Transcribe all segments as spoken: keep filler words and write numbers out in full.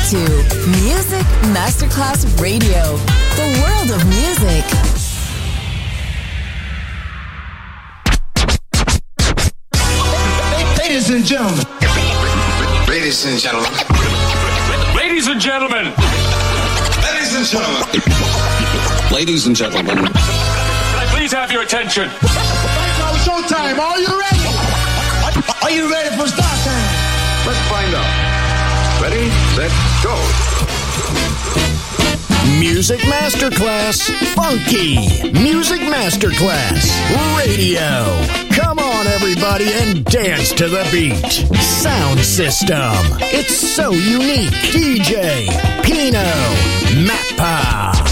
to Music Masterclass Radio, the world of music. Ladies and gentlemen. Ladies and gentlemen. Ladies and gentlemen. Ladies and gentlemen. Ladies and gentlemen. Can I please have your attention? Now showtime. Are you ready? Are you ready for start time? Let's find out. Ready, set, go. Music Masterclass Funky. Music Masterclass Radio. Come on, everybody, and dance to the beat. Sound system. It's so unique. D J Pino Mappa.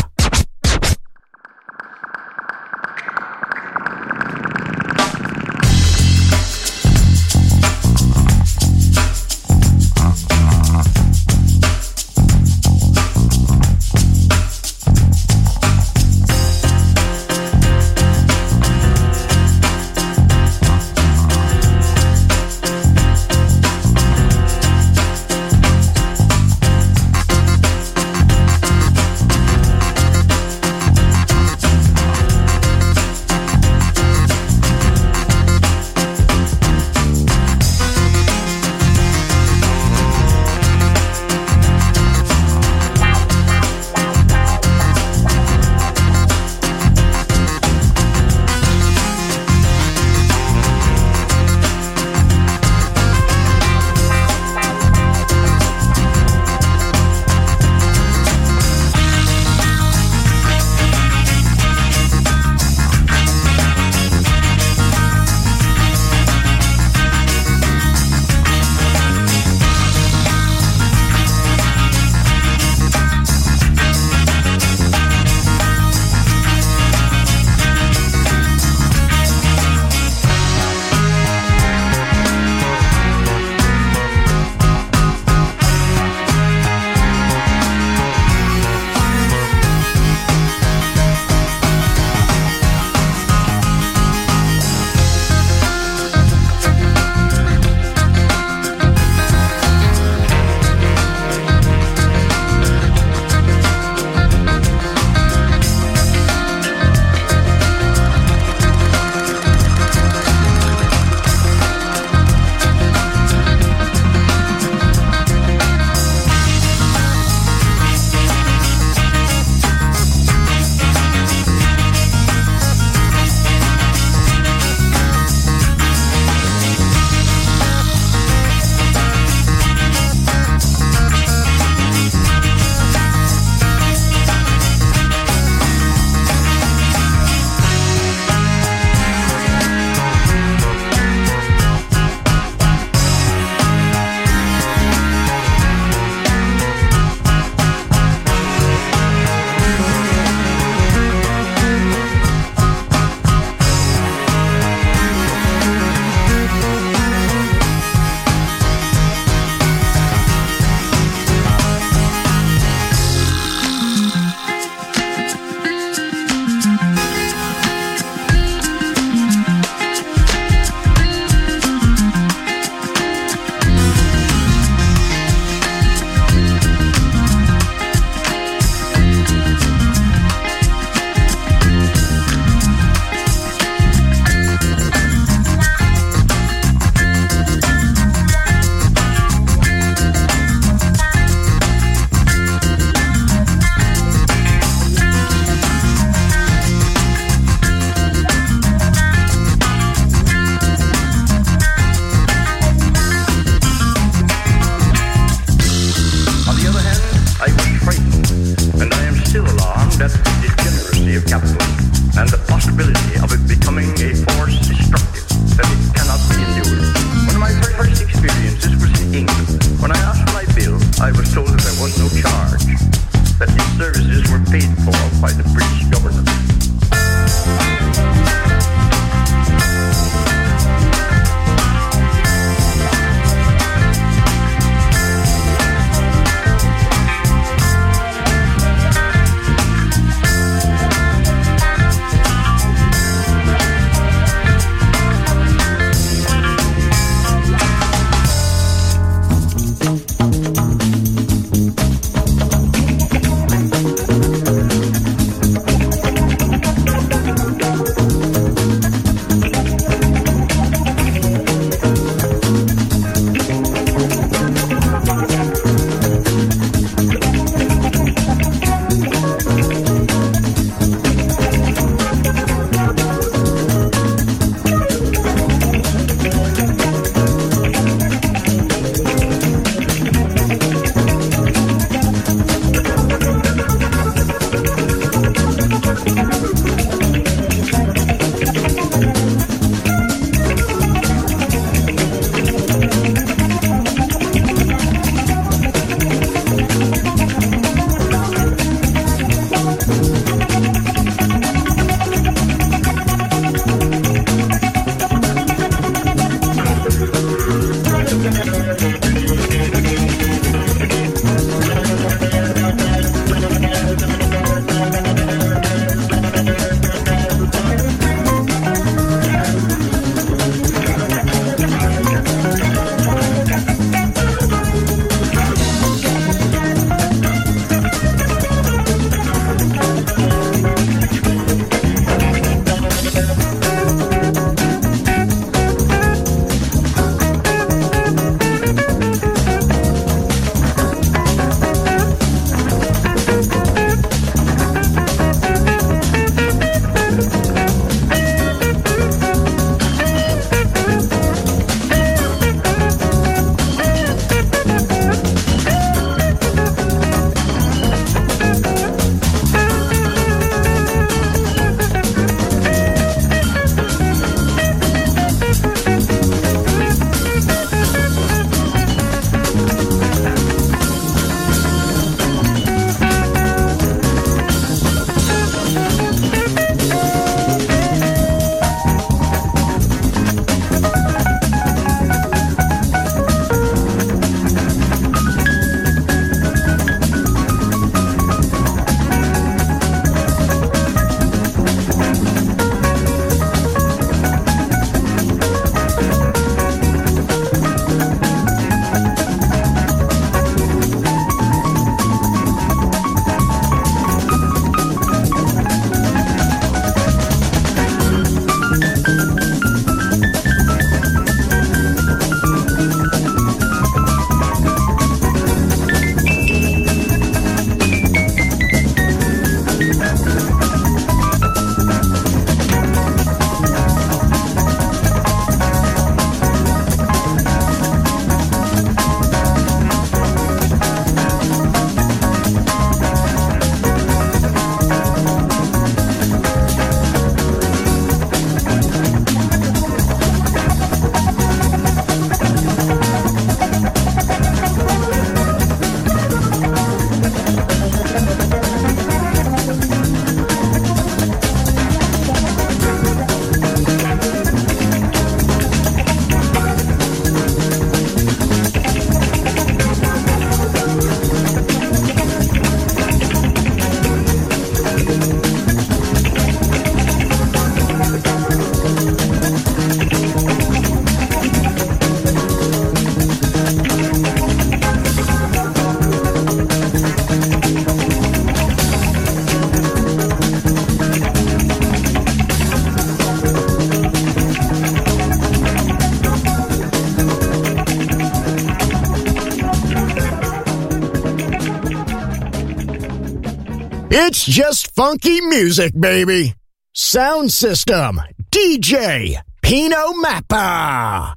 It's just funky music, baby. Sound system, D J Pino Mappa.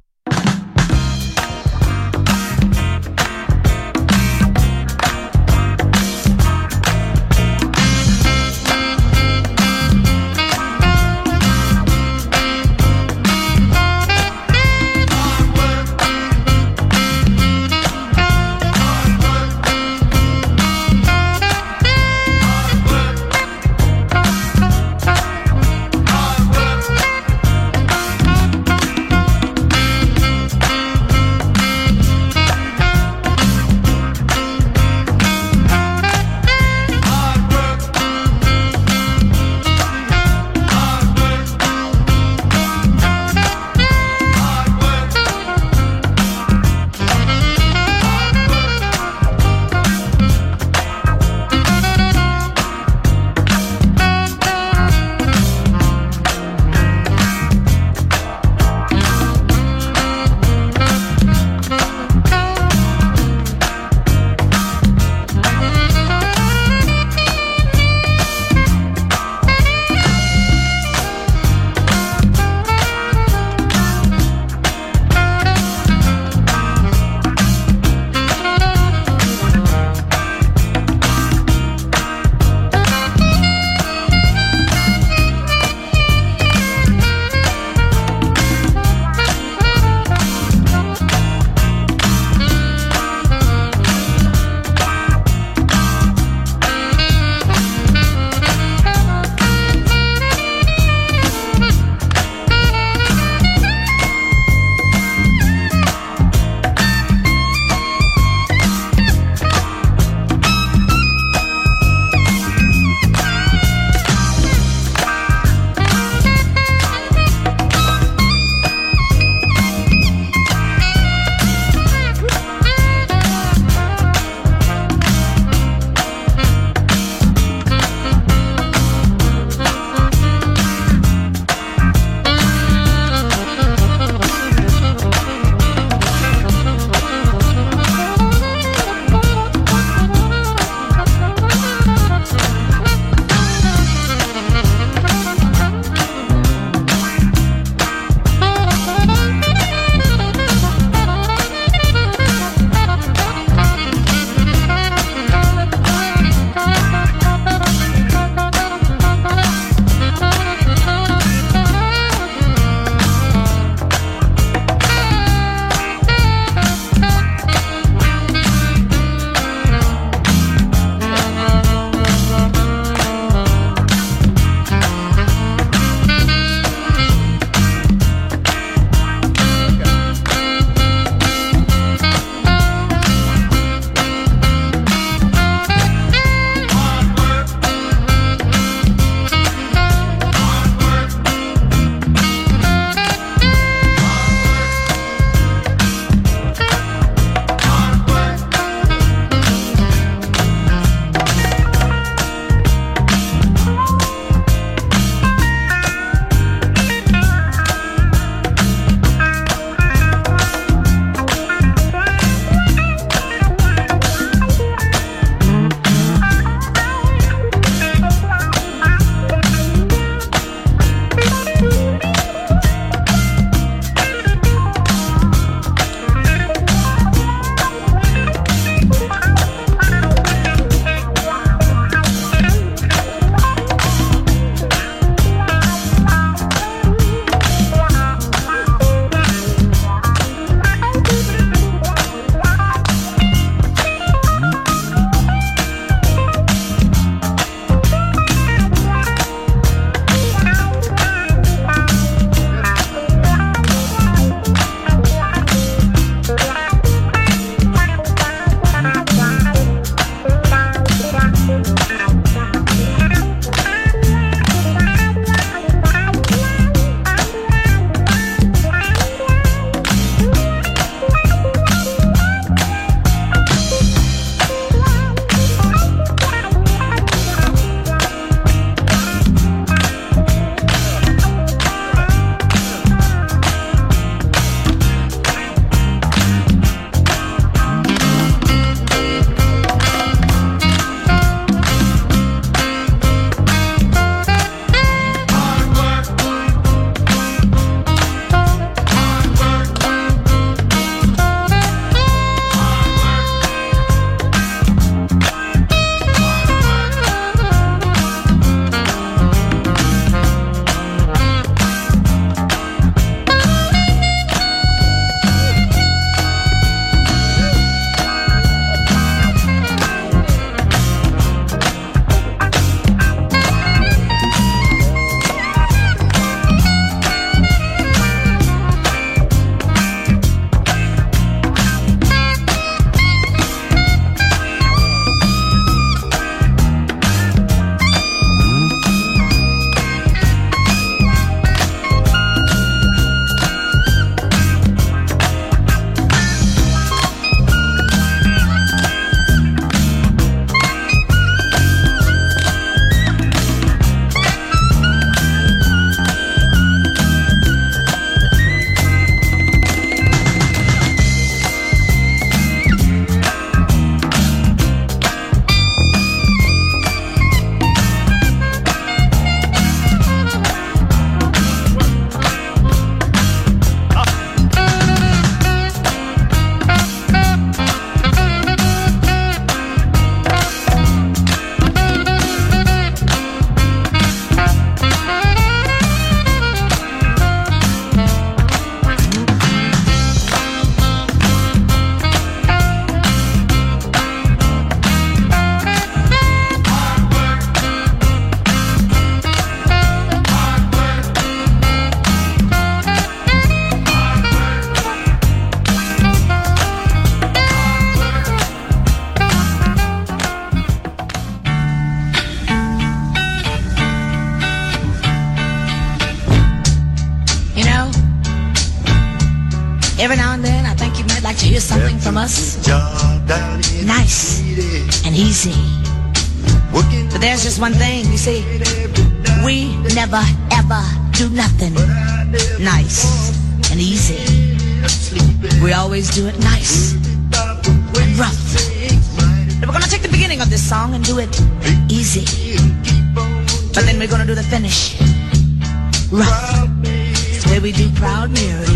us nice and easy. But there's just one thing, you see, we never ever do nothing nice and easy. We always do it nice and rough. And we're gonna take the beginning of this song and do it easy, but then we're gonna do the finish rough. It's the way we do Proud Mary.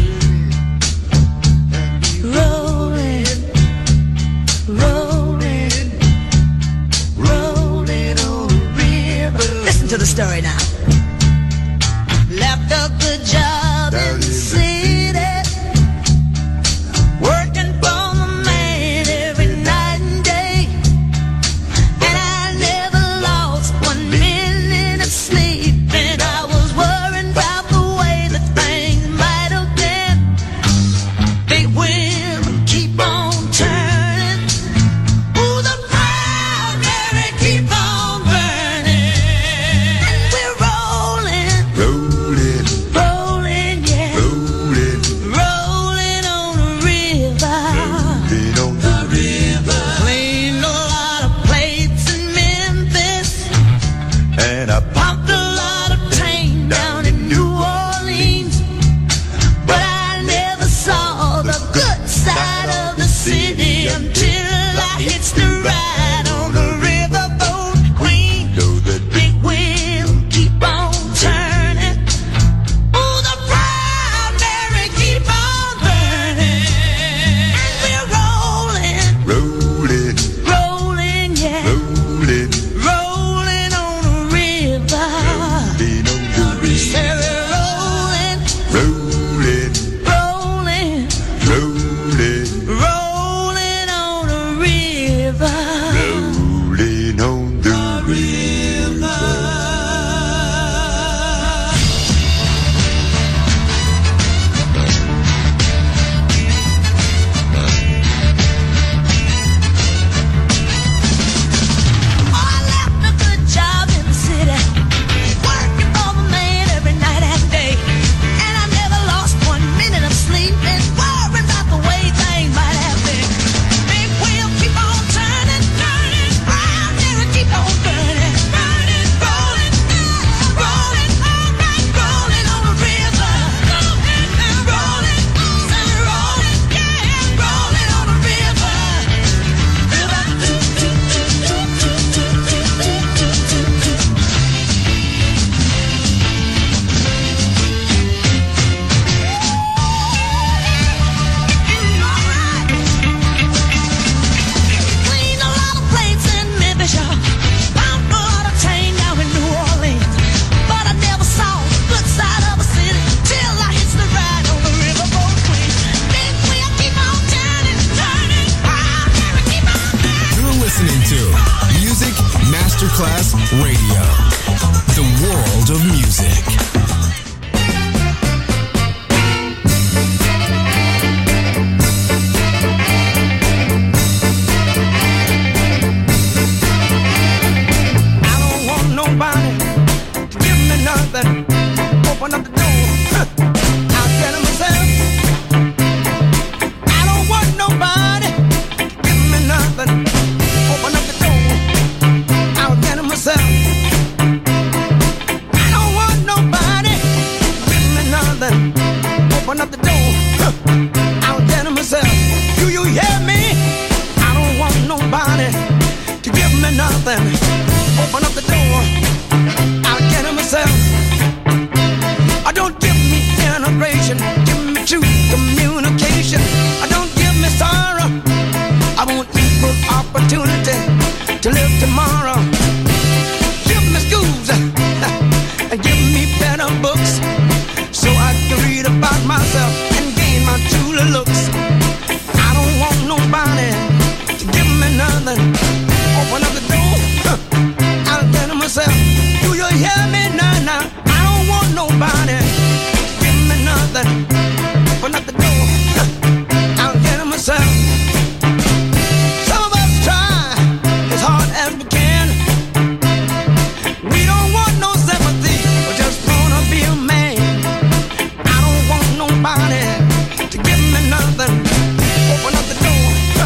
Rolling, rolling, rolling on the river. Listen to the story now. Left a good job in the city, working for the man every night and day, and I never lost one minute of sleep, and I was worrying about the way that things might have been. Big wheel keep on turning, ooh, the Proud Mary keep on burning, and we're rolling, rolling, rolling, yeah, rolling, rolling on the river, rolling on the river. Cleaned a lot of plates in Memphis, and I pumped a lot of tang down in New Orleans, but I never saw the good side of the city until I hitched the ride on the riverboat queen. Big wheel keep on turning, ooh, the Proud Mary keep on burning, and we're rolling, rolling, rolling, yeah, rolling, rolling on the river. Say we're rolling, rolling, rolling, rolling, rolling on the river, rolling on the river. I left a good job in the city, working for the man every night and day, and I never lost one minute of sleep, and worrying about the way things might have been. Big wheel keep on turning, turning, Proud Mary keep on burning, burning, rolling, rolling, all right, rolling on the river, rolling, rolling, say rolling, yeah, rolling on the river. Cleaned a lot of plates in Memphis, y'all. Pumped a lot of tang down in New Orleans, but I never saw the good side of a city till I hitched the ride on the riverboat queen. Big wheel keep on turning, turning, Proud Mary keep on burning. You're listening to Music Masterclass Radio, the world of music. I don't want nobody to give me nothing. Open up the door, huh, I'll get it myself. I don't want nobody to give me nothing. Open up the door, I'll get it myself. I don't want nobody to give me nothing. Open up the door, huh, I'll get it myself. Do you hear me? I don't want nobody to give me nothing. Open up the door, I'll get it myself. I don't give me integration, give me true communication. I don't give me sorrow, I want equal opportunity to live tomorrow. Give me schools and give me better books, so I can read about myself and gain my true looks. I don't want nobody to give me nothing. Open up the door, huh, I'll get it myself. Do you hear me now? Now I don't want nobody to give me nothing. Open up the door, huh, I'll get it myself. Some of us try as hard as we can. We don't want no sympathy, we just wanna be a man. I don't want nobody to give me nothing. Open up the door, huh,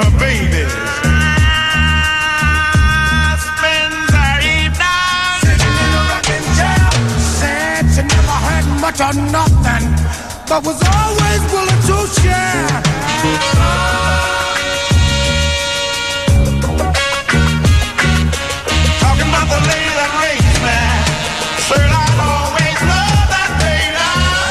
her baby. Spends her evening sitting in a rocking chair. Said she never had much or nothing, but was always willing to share. Talking about the lady that raised me. Said I'd always love that lady.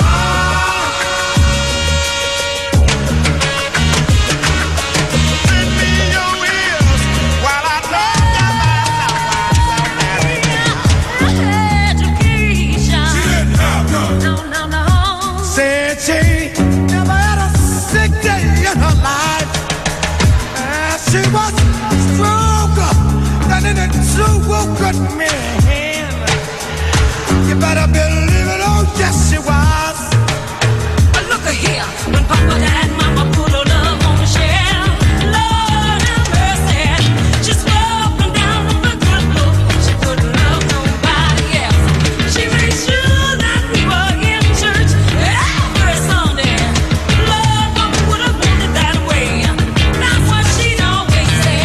Lend me your ears while I talk about Education. She didn't have none. No, no, no. Said she never had a sick day in her life. And she was stronger than any two good men. You better believe it, oh yes she was. But look at here, when Papa and Mama put her love on the shelf, Lord have mercy, she swore up and down on the good look. She couldn't love nobody else. She made sure that we were in church every Sunday. Lord, Papa would have wanted it that way. That's what she'd always say.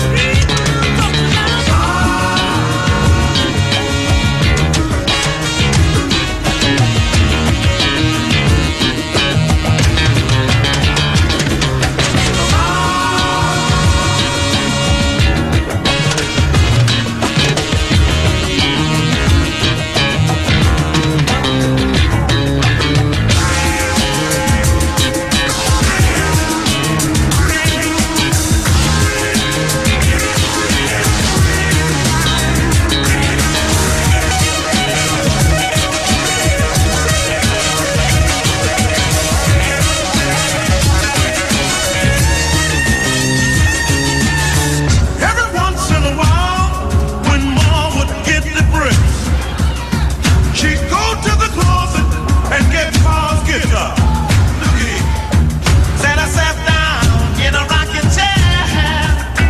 Every once in a while, when Mom would get the bricks, she'd go to the closet and get Pa's guitar. Look here. Said I sat down in a rocking chair,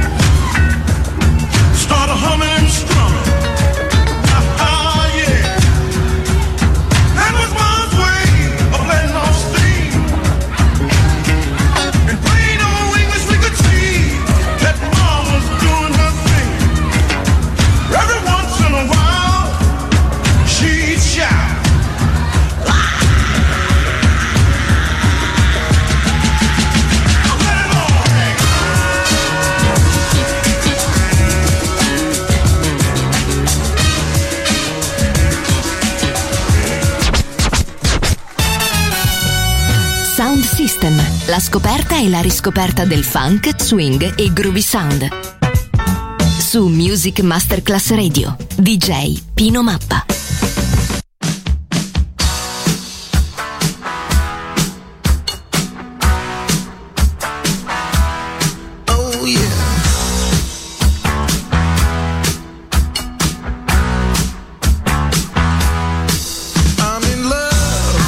started humming and strumming. Ah, yeah. That was Mom's way of letting off steam. In plain old English, we could see that Mom was doing her thing. Every once in a while, she'd shout. Let it all hang. Sound System, la scoperta e la riscoperta del funk, swing e groovy sound. Su Music Masterclass Radio, D J Pino Mappa. Oh yeah. I'm in love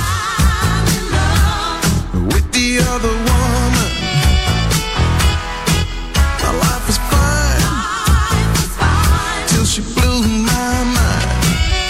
with the other woman. My life was fine till she blew my mind.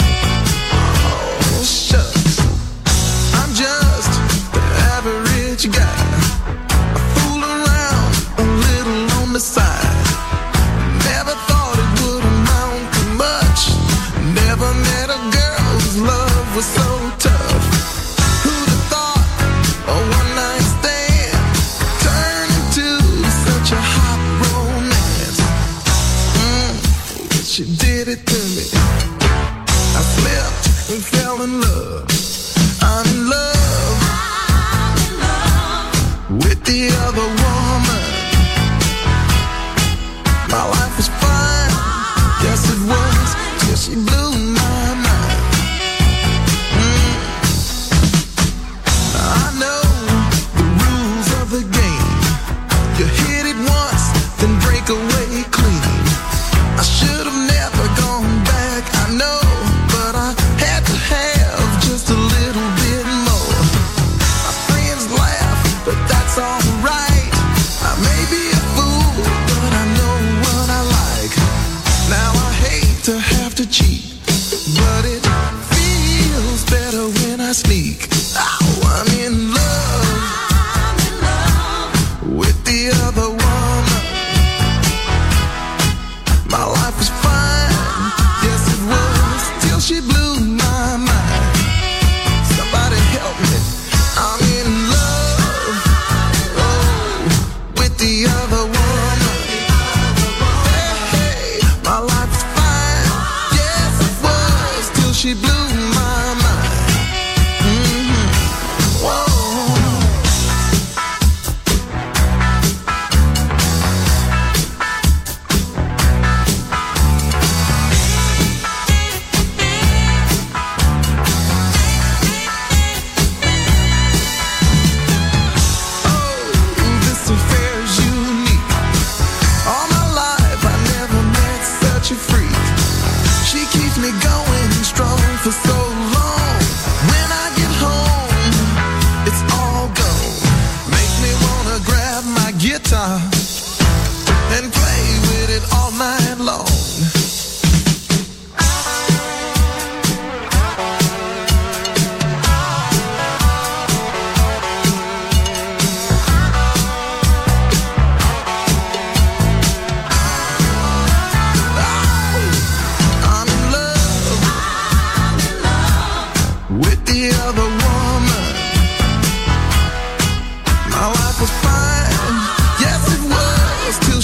Oh shucks, I'm just the average guy. I fool around a little on the side. Never thought it would amount to much. Never met a girl whose love was so tough. Who'd have thought a one night stand turned into such a hot romance? Mm, she did it to me. I slipped and fell in love. I'm in love with the other woman. My life was fine, yes it was, till she blew my mind. Mm. I know the rules of the game. You hit it once, then break away clean. I should have never gone back, I know, but I had to have just a little bit more. My friends laugh, but that's alright. I may be a fool, but I know what I like. Now I hate to have to cheat, but it feels better when I sneak. Oh, I'm in love with the other woman.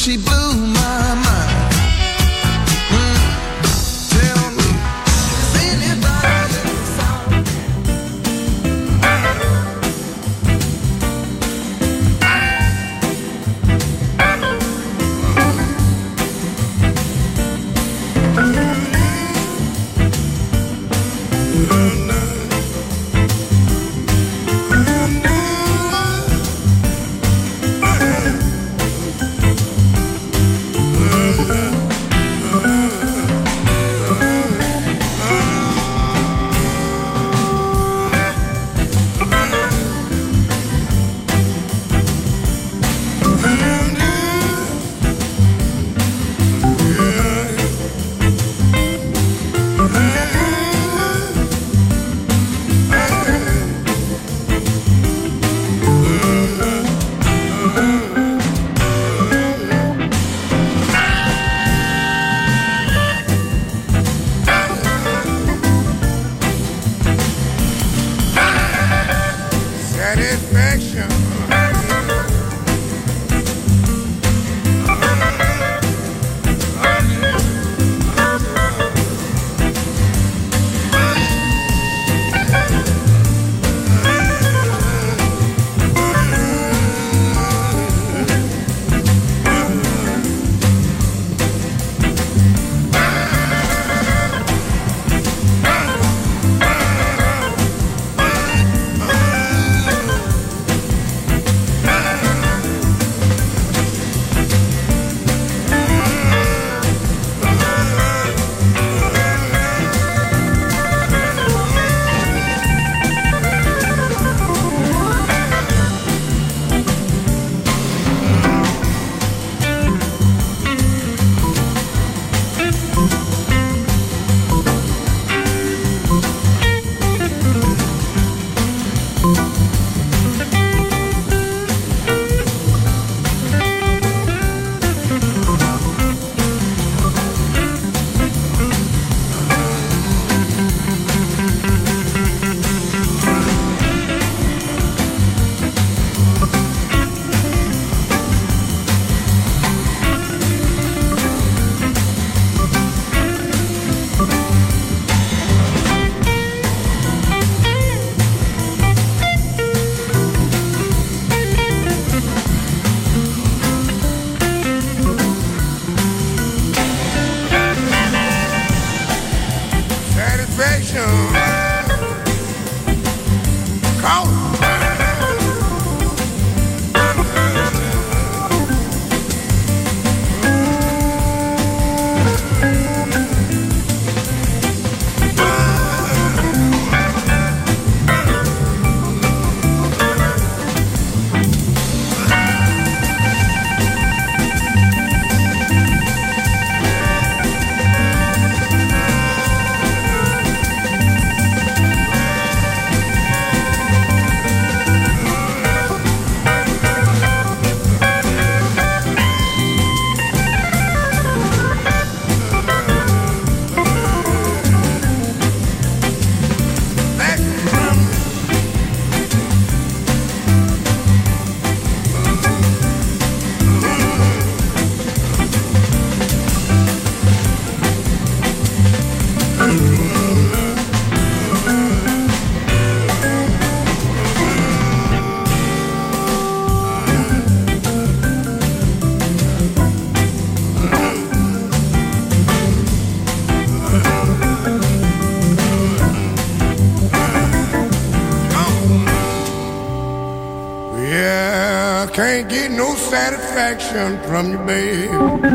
she blew my mind. Mm. Tell me, is anybody Can't get no satisfaction from you, babe.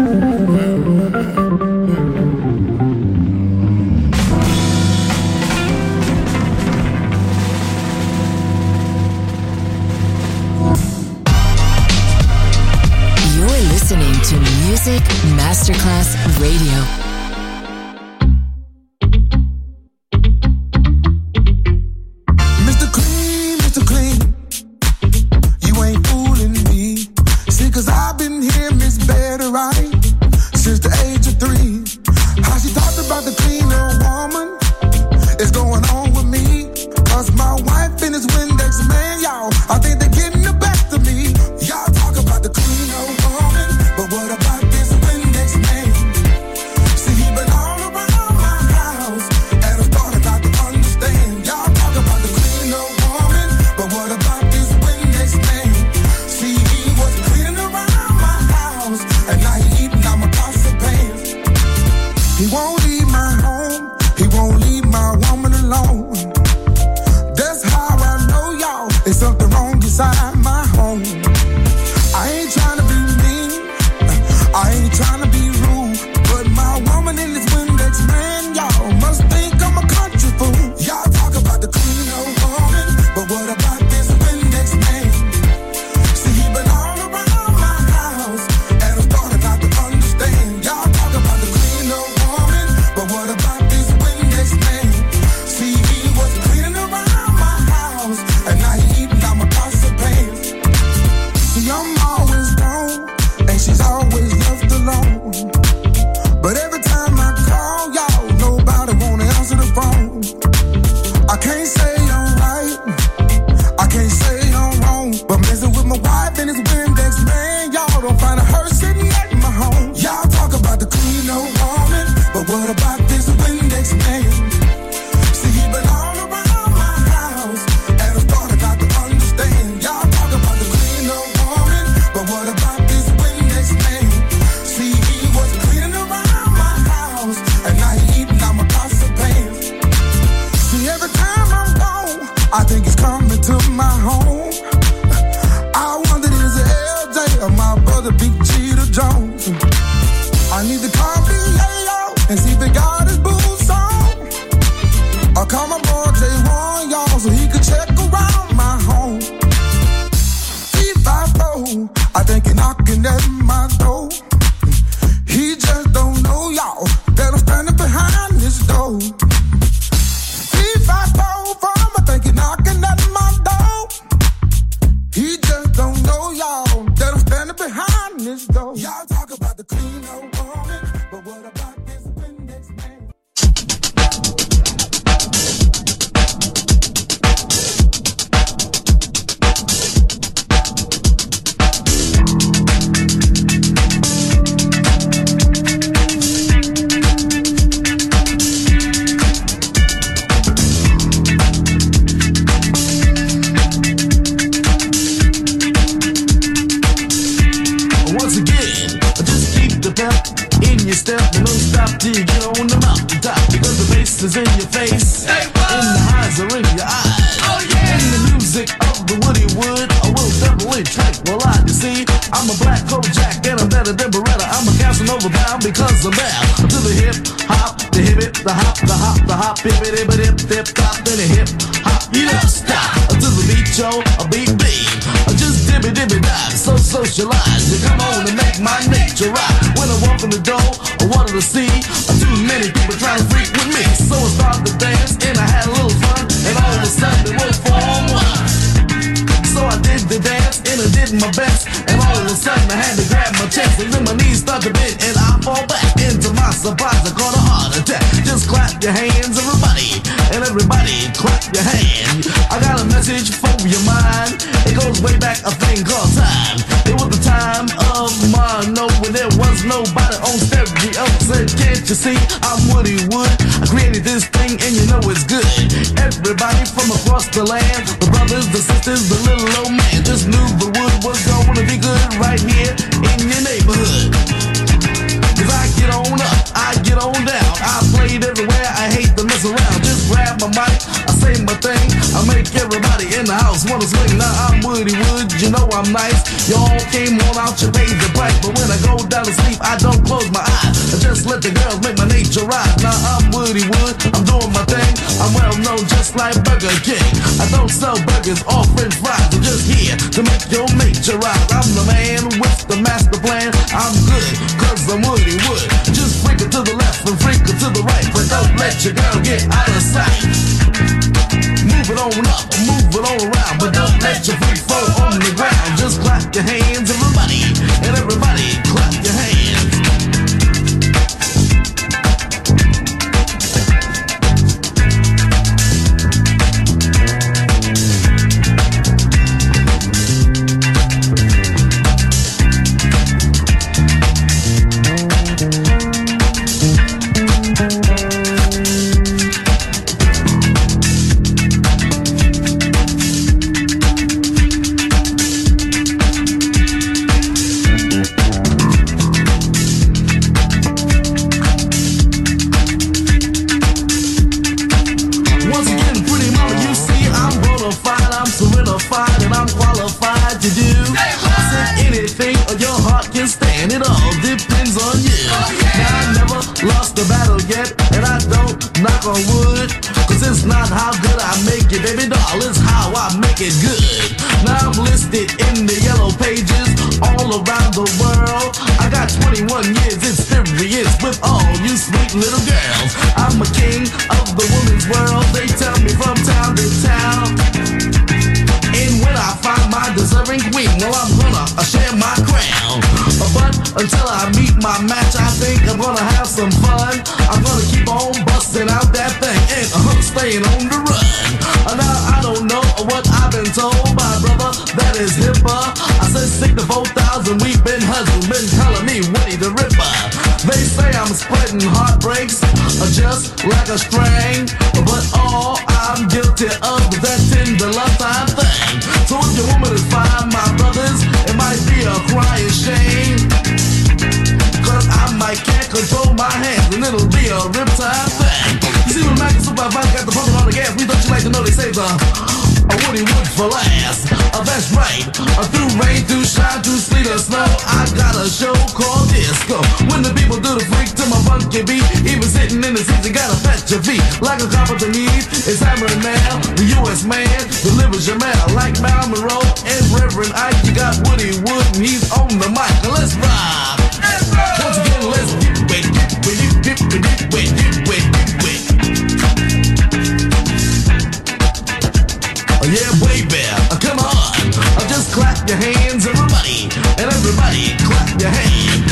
You're listening to Music Masterclass Radio. What about my door. He just don't know, y'all, that I'm standing behind this door. Three, five, four, four, I think he's knocking at my door. He just don't know, y'all, that I'm standing behind this door. Y'all talk about the clean old woman, but what about this Windex man? Step and don't stop till you get on the mountaintop, because the bass is in your face, hey, and the highs are in your eyes. Oh yeah! And the music of the Woody Wood, I will definitely tranquilize. You see, I'm a black Kojak and I'm better than Beretta. I'm a Casanova bound because I'm down to the hip hop, the hip it, the hop, the hop, the hop, hip it, hip it, hip, hip, hop, then the hip hop. You don't stop until the beat, yo, a beat beat. Just dibby dibby dive, so socialized. You come on and make my nature rock. When I walk in the door, I wanted to see too many people trying to freak with me. So I started to dance and I had a little fun, and all of a sudden it was form one. So I did the dance and I did my best, and all of a sudden I had to grab my chest, and then my knees start to bend and I fall back. Into my surprise, I caught a heart attack. Just clap your hands, everybody, and everybody clap your hand. I got a message for your mind. It goes way back, a thing called time. It was the time of mono when there was nobody on stereo. Said, can't you see I'm Woody Wood? I created this thing and you know it's good. Everybody from across the land, the brothers, the sisters, the little old man, just knew the wood was gonna be good right here in your neighborhood. Cause I get on up, I get on down, I played everywhere, I hate to mess around. Just grab my mic, I say my thing, I make everybody in the house wanna swing. Now I'm Woody Wood, you know I'm nice. Y'all came on out, you paid the price, but when I go down to sleep, I don't close my eyes. I just let the girls make my nature rise. Now I'm Woody Wood, I'm doing my thing, I'm well known just like Burger King. I don't sell burgers or french fries, I'm just here to make your nature rise. I'm the man with the master plan, I'm good, cause I'm Woody Wood. Just freak it to the left and freak it to the right, but don't let your girl get out of sight. Move it on up, move it on around, but don't let your freak fall on the ground. Just clap your hands, everybody, and everybody clap your hands. On wood, cause it's not how good I make it, baby doll, it's how I make it good. Now I'm listed in the yellow pages all around the world. I got twenty-one years experience with all you sweet little girls. I'm a king of the women's world, they tell me from town to town. And when I find my deserving queen, well I'm gonna uh, share my crown. Uh, but until I meet my match, I think I'm gonna have some fun. I'm gonna keep on busting out that thing and uh, staying on the run. Uh, now I don't know what I've been told by brother that is hipper. I said stick to four thousand, we've been hustled, been telling me Woody the Ripper. They say I'm spreading heartbreaks uh, just like a string, but all I'm guilty of is that tender love time thing. So if your woman is fine, my brothers, it might be a crying shame, cause I might can't control my hands and it'll be a riptide thing. You see when Michael Supervisor got the pumping on the gas, we don't you like to know they say the a Woody Wood for last. Uh, that's right. Uh, through rain, through shine, through sleet or snow, I got a show called Disco. When the people do the freak to my funky beat, even sitting in the seats, you gotta fetch your feet like a carpenter needs. It's hammering now. The U U S man delivers your mail like Mal Monroe and Reverend Ike. You got Woody Wood and he's on the mic. Now let's ride. Once again, let's get wet, get wet, get wet, get wet, get wet, get wet. Oh yeah, baby, uh, come on. Uh, just clap your hands, everybody, and everybody clap your hands.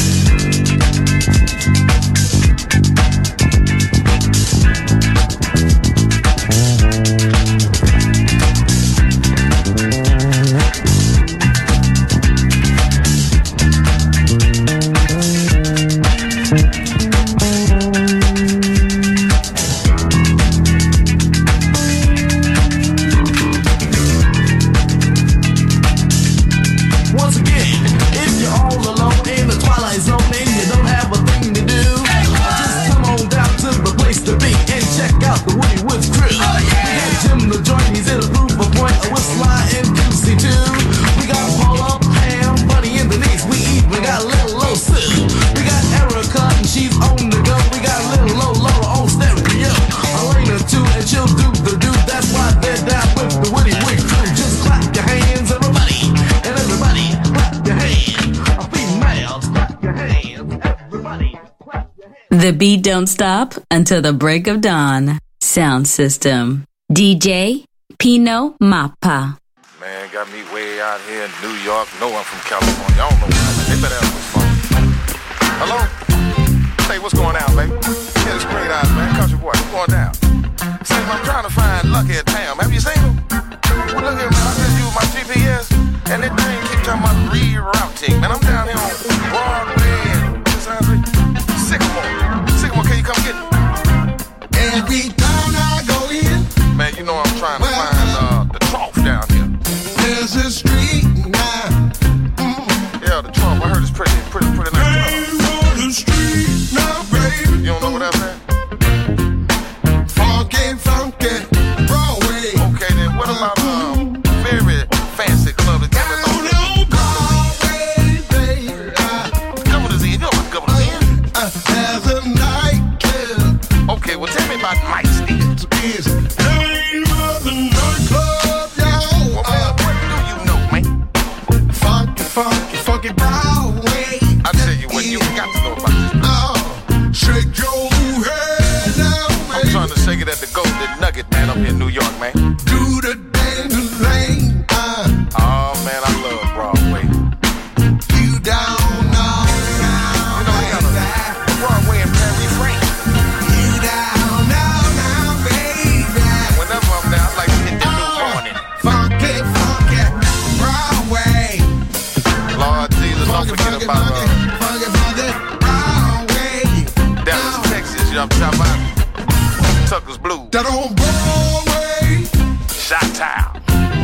The beat don't stop until the break of dawn. Sound system. D J Pino Mappa. Man, got me way out here in New York. No, I'm from California. I don't know why. They better have some fun. Hello? Hey, what's going on, baby? Yeah, it's Great Eyes, man. Country boy, what's going down? Say, I'm trying to find Lucky at Tam. Have you seen him? Well, look here, man. I just use my G P S, and that thing keep talking about rerouting. Man, I'm down here on Broadway and Sycamore. Sycamore, can you come get me? Every time I go in, man, you know I'm trying to well, find uh, the trough down here. There's a street now. Mm. Yeah, the trough. I heard it's pretty, pretty, pretty nice. Main on the street now, baby. You don't know what I'm saying? Funky, funky, Broadway. Okay, then what about a um, very fancy club that got it on Broadway, baby? Governor's Inn. You know what Governor's Inn? Uh, there's a nightclub. Okay, well tell me about Mike Stevens. Is name of the nightclub, yo. Well, man, what do you know, man? Funky, funky, funky Broadway. I tell you what, you got to know about this place. Oh, shake your head now, man. I'm trying to shake it at the Golden Nugget, man, up here in New York, man. Do the dance lane. Uh, oh, man, I love Broadway. You down now, now. You know, we got a Broadway and Perry Frank. You down now, now, baby. Whenever I'm there, I like to hit the new morning. Funky, funky Broadway. Lord Jesus, don't forget about uh, funky, funky Broadway. Dallas, Texas, you know what I'm talking about? Tucker's Blues. That on Broadway. Chi-Town.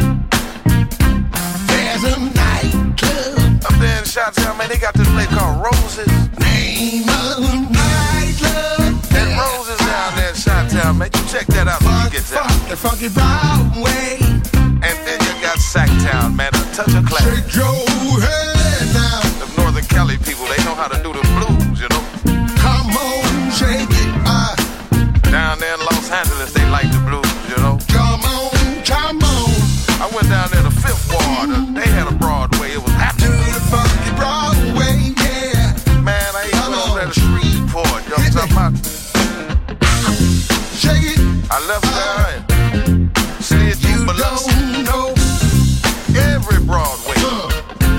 There's a nightclub. Up there in Chi-Town, man, they got this place called Roses. Name of the nightclub. And Roses down there in Chi-Town, man. You check that out when you get there. Funky, funky Broadway. And then you got Sacktown, man, a touch of class. Shake your head now. The Northern Cali people, they know how to do the blues, you know. Come on, shake it. Uh, Down there in Los Angeles, they like the blues, you know. Come on, come on. I went down there to Fifth Ward. Uh, they had a Broadway. It was happening. Do the funky Broadway, yeah. Man, I ain't went over there to Shreveport. You know what I'm talking about? Shake it. I left there and slid through Biloxi. You don't know. Every Broadway. Uh.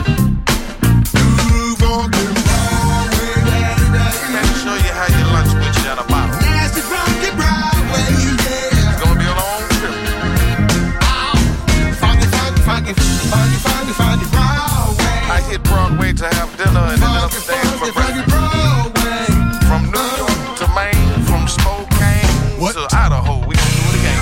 Do funky Broadway, yeah. Let me show you how you lunch with you in a bottle. Nasty funky Broadway, yeah. It's gonna be a long trip. Oh. Funky, funky, funky, funky, funky, funky Broadway. I hit Broadway to have dinner and ended up staying for breakfast. Broadway. From New York to Maine, from Spokane what? to Idaho, we gonna do it again.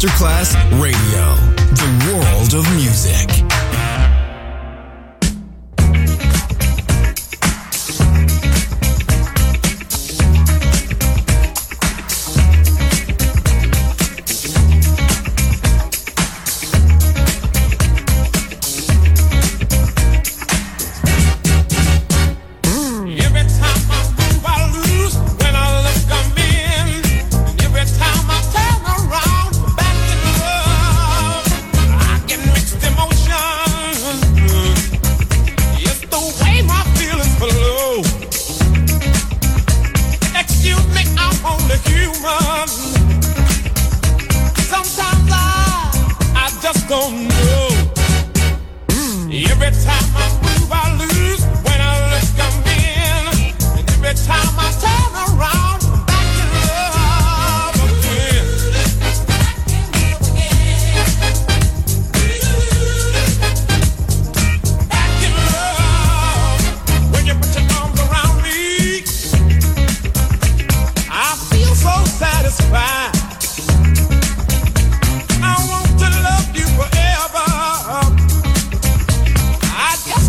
Masterclass Radio, the world of music. I want to love you forever. I just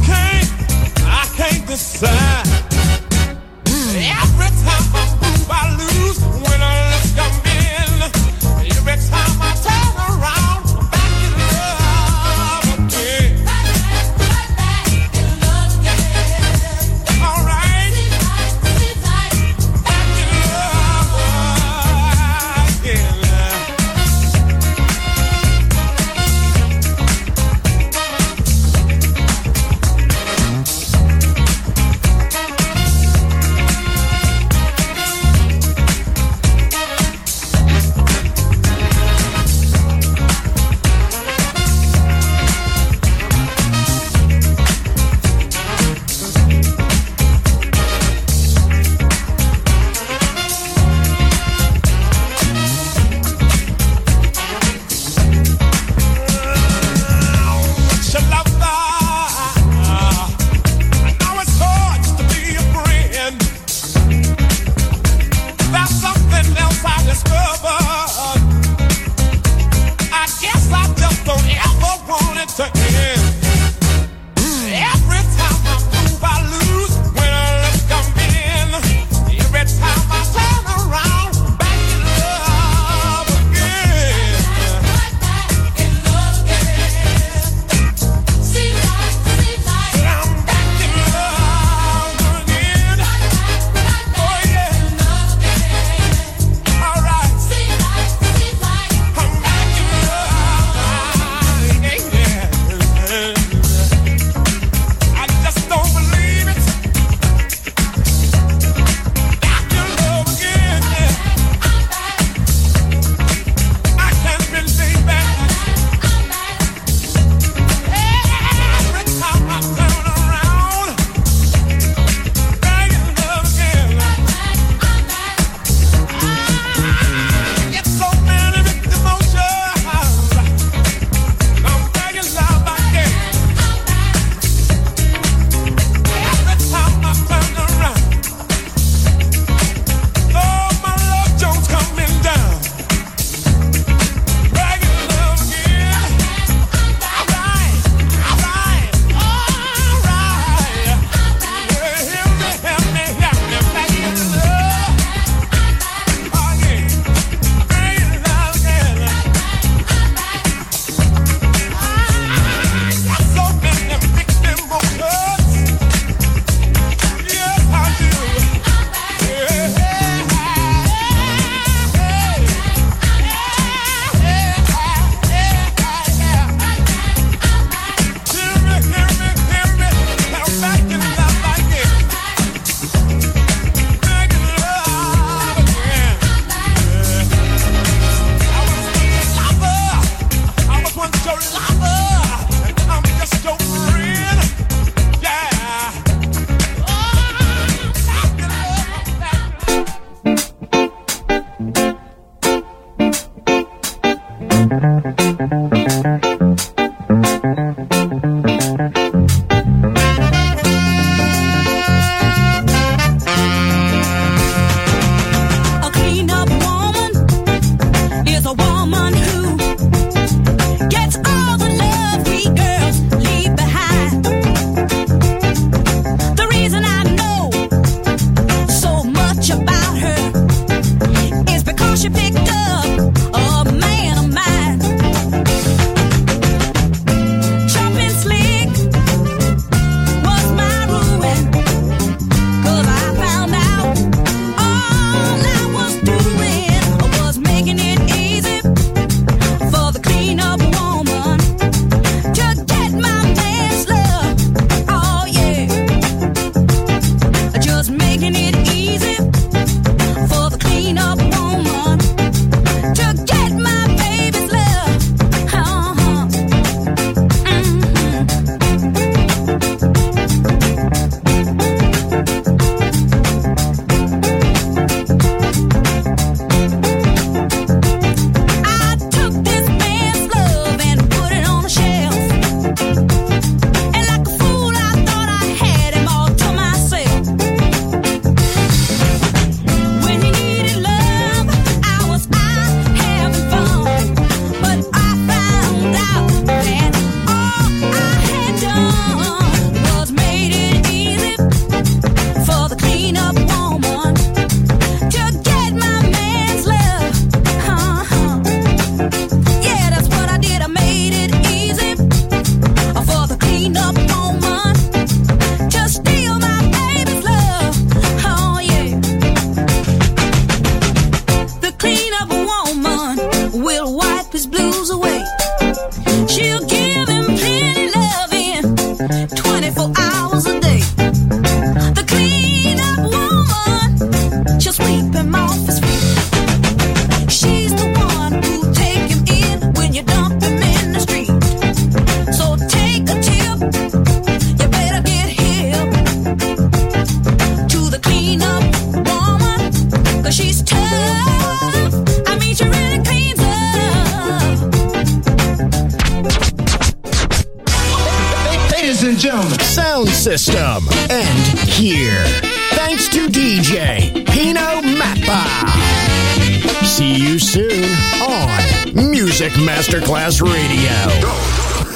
and gentlemen. Sound system. And here. Thanks to D J Pino Mappa. See you soon on Music Masterclass Radio.